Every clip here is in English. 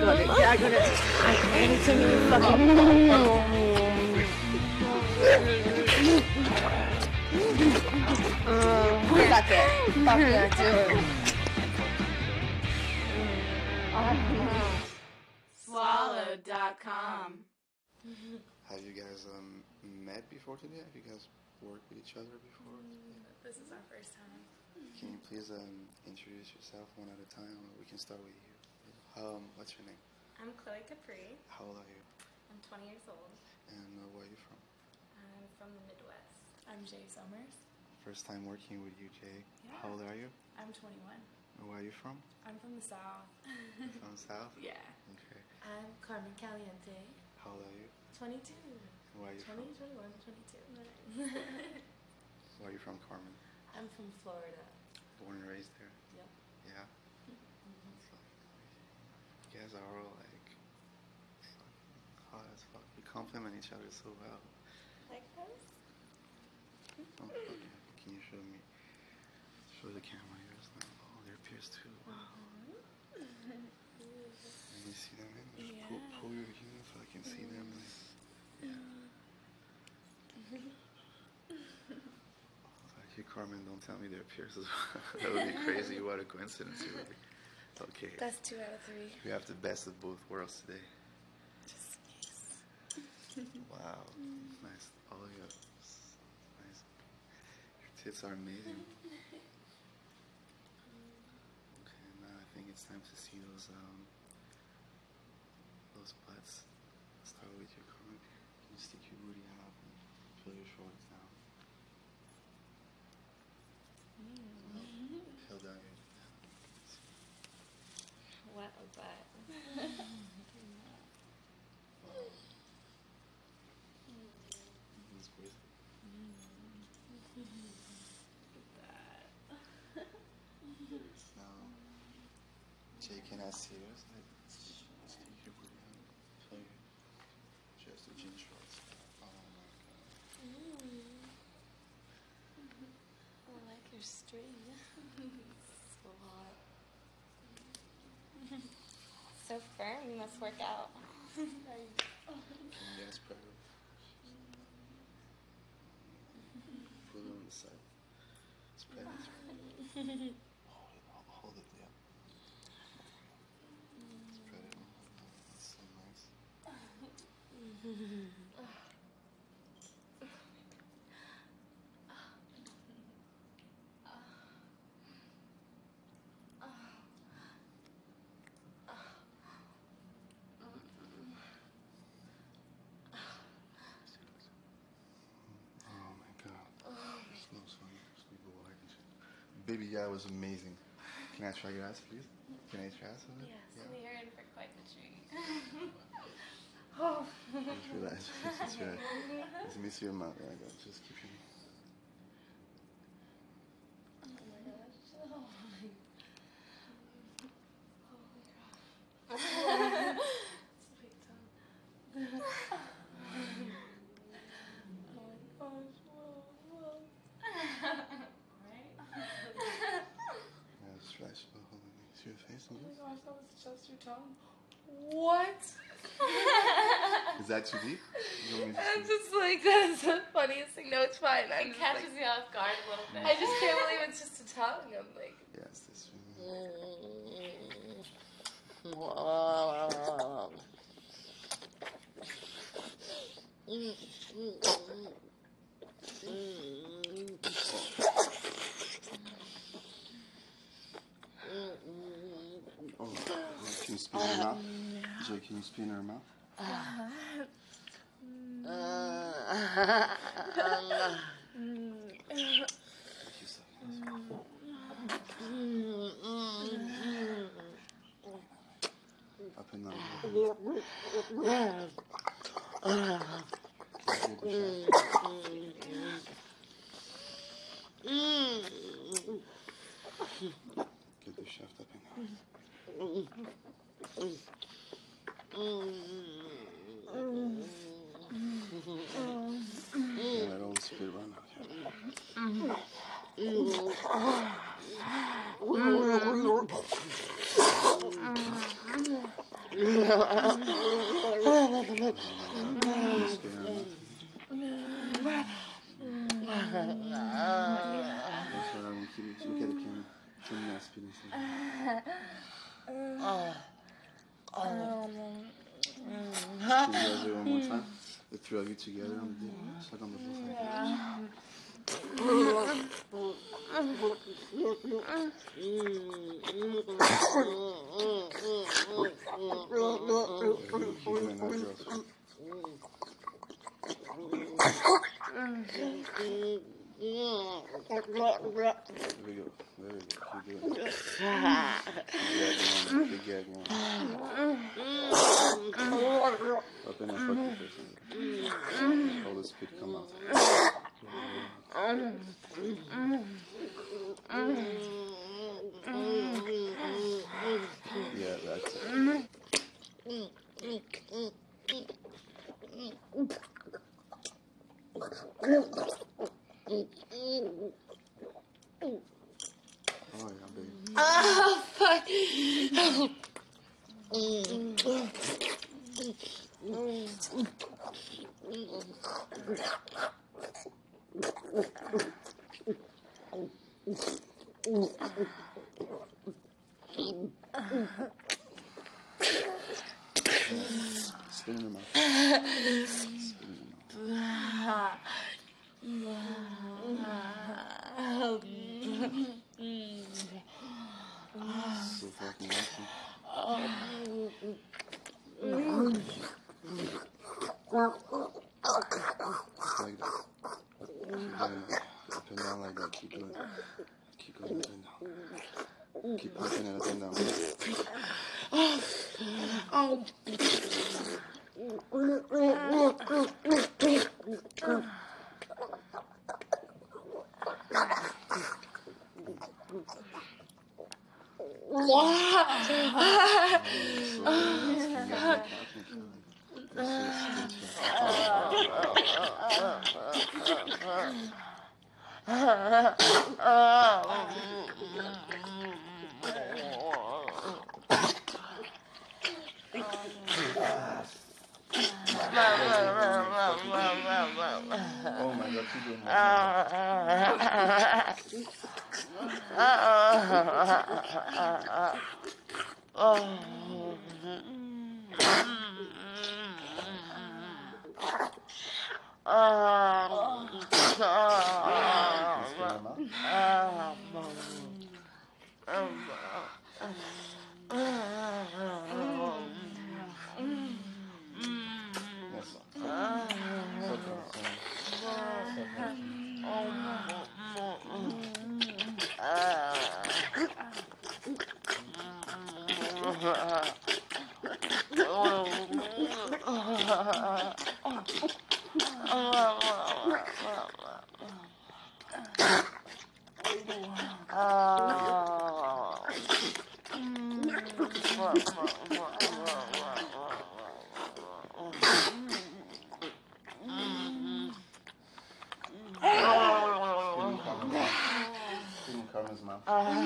Anything you fucking Fuck it. Fuck yeah, do it. Swallowed.com. Have you guys met before today? Have you guys worked with each other before? This is our first time. Can you please introduce yourself one at a time? We can start with you. What's your name? I'm Chloe Capri. How old are you? I'm 20 years old. And where are you from? I'm from the Midwest. I'm Jay Summers. First time working with you, Jay. Yeah. How old are you? I'm 21. And where are you from? I'm from the South. From the South? Yeah. Okay. I'm Carmen Caliente. How old are you? 22. And where are you 20, from? 21, 22. Where are you from, Carmen? I'm from Florida. Born and raised there? Yep. Yeah? It's like, you guys are all like hot as fuck. You compliment each other so well. Like this? Oh, okay. Can you show me? Show the camera yours now. Oh, they're pierced too. Wow. Let me see them. Just pull your heel so I can see them. Thank you, Carmen. Don't tell me they're pierced. That would be crazy. What a coincidence it would be. Okay. That's 2 out of 3. We have the best of both worlds today. Just nice. Wow. Nice. Oh, yeah. Nice. Your tits are amazing. Okay, now I think it's time to see those butts. Start with your Carmen. Can you stick your booty out and pull your shorts down? Pull down your... What a butt. It's great. Now, Jay, can I see yours? Stick your booty out. Pull your... Just the jean shorts. Oh my god. I like your string. So hot. So firm, you must work out. Can you guys spread it? Put it on the side. Spread it. Hold it, yeah. Spread it. That's so nice. Oh my god. Slow. Sleep away. Baby, that was amazing. Can I try your ass, please? Can I try some of it? Yes, we are in for quite the treat. Just relax. Just relax. Let me see your mouth. There I go. Just keep your... Oh my gosh. Sweet tongue. Oh my gosh. Whoa. Right? Yeah, just relax. Hold on. See your face? Oh my gosh, that was just your tongue. What? Is that too deep? You want me to I'm see? just like, that's the funniest thing. No, it's fine. It catches me off guard a little bit. I just can't believe it's just a tongue. I'm like, Yes, this one. Oh, can you spin her mouth? Jay, can you spin her mouth? Thank you so much. Up and down. Get the shaft up and down. Yeah, that old spit run out. Yeah. Look at the camera. Show me that spinning thing. Can you guys do it one more time? The three of you together on the dick. Suck on the both There we go. Keep doing it. Big gag one. Open and fuck the person. All the spit come out. Yeah, that's it. Oh yeah, baby. Oh, fuck. Spin in the mouth. Spin in the mouth. So fucking awesome. Like that. Keep doing it. Up and down like that. Keep doing it. Keep going up and down. Keep pushing it up and down. Oh my God, keep doing Carmen's mouth.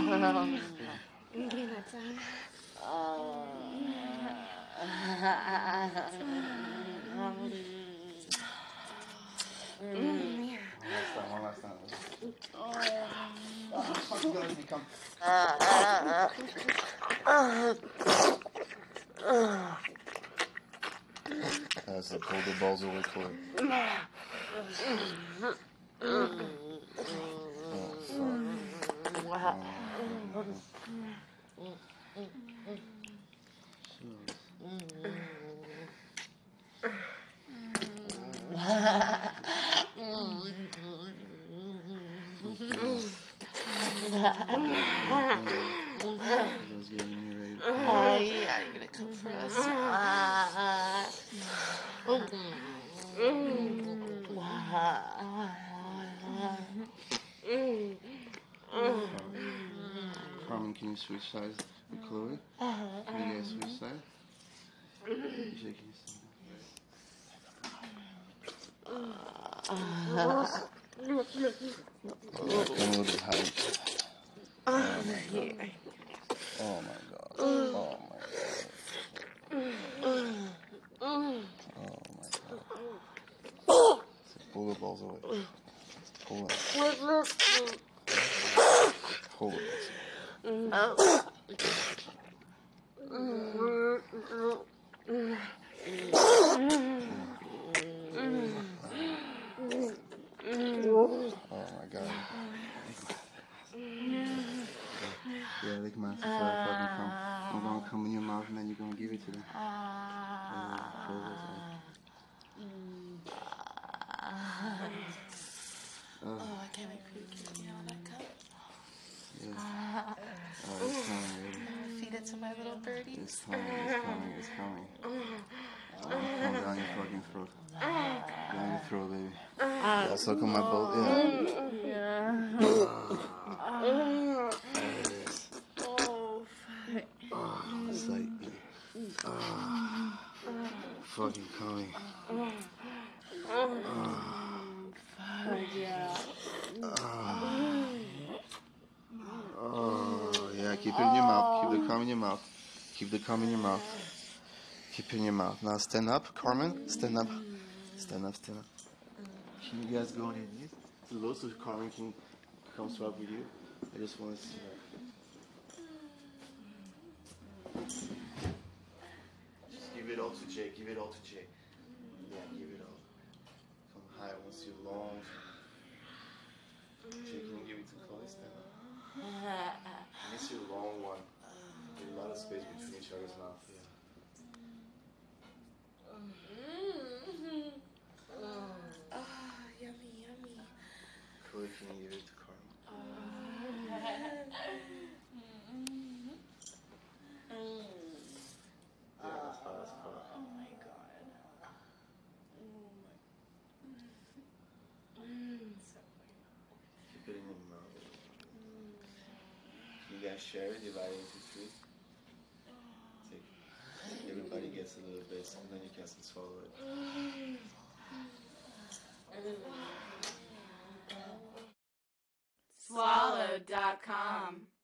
One last time. Fuck you guys become. That's the pull the balls away for it. Yeah, you're gonna come for us. Carmen, can you switch sides with Chloe? Can you guys switch sides? You shaking your stomach. A little bit high. Oh my God. Oh my God. Pull the balls away. Pull it. Hold it. Oh my god. Yeah, lick my fucking cum. I'm gonna come in your mouth and then you're gonna give it to them. Oh, I can't wait for you to get me all that cup. Yeah. Oh, it's coming, baby. Feed it to my little birdie. It's coming, it's coming, it's coming. Come down your fucking throat. Down your throat, baby. Yeah, suck on my boat, yeah. There it is. It's like, fucking coming. Oh, yeah, keep it in your mouth. Keep the cum in your mouth. Keep the cum in your mouth. Keep it in your mouth. Now stand up, Carmen. Stand up. Stand up, stand up. Can you guys go on your knees? So low so Carmen can come swap with you. I just want to see that. Just give it all to Jay. Give it all to Jay. Yeah, give it all. Come high. I want to see long. Jay, can you give it to Chloe? Stand up. I miss your long one. There's a lot of space between each other's mouth. Yeah. Yummy, yummy. Chloe, can you give it to Carmen? Yeah, that's fine, that's fine. Oh my god. Keep it in your mouth. You guys share it, divide it into three. Take. Everybody gets a little bit, and then you can swallow it. Swallowed.com